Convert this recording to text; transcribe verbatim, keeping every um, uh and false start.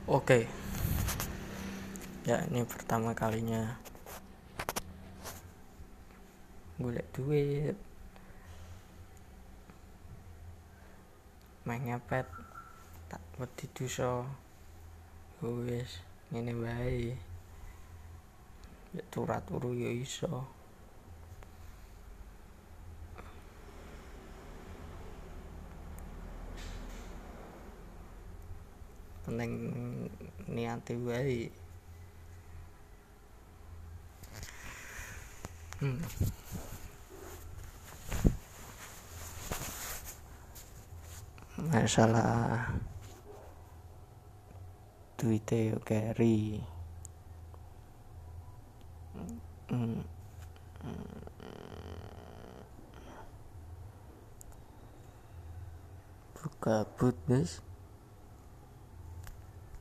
Oke, ya ini pertama kalinya golek duit, main ngepet, tak wedi dosa. Wis ngene wae. Ya turat uru ya iso. Penting niate wae. Hmm. Masalah duite yo carry. Hmm. Buka but, Guys.